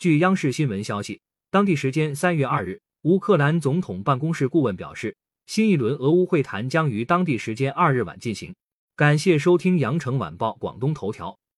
据央视新闻消息，当地时间3月2日，乌克兰总统办公室顾问表示，新一轮俄乌会谈将于当地时间2日晚进行。感谢收听羊城晚报广东头条。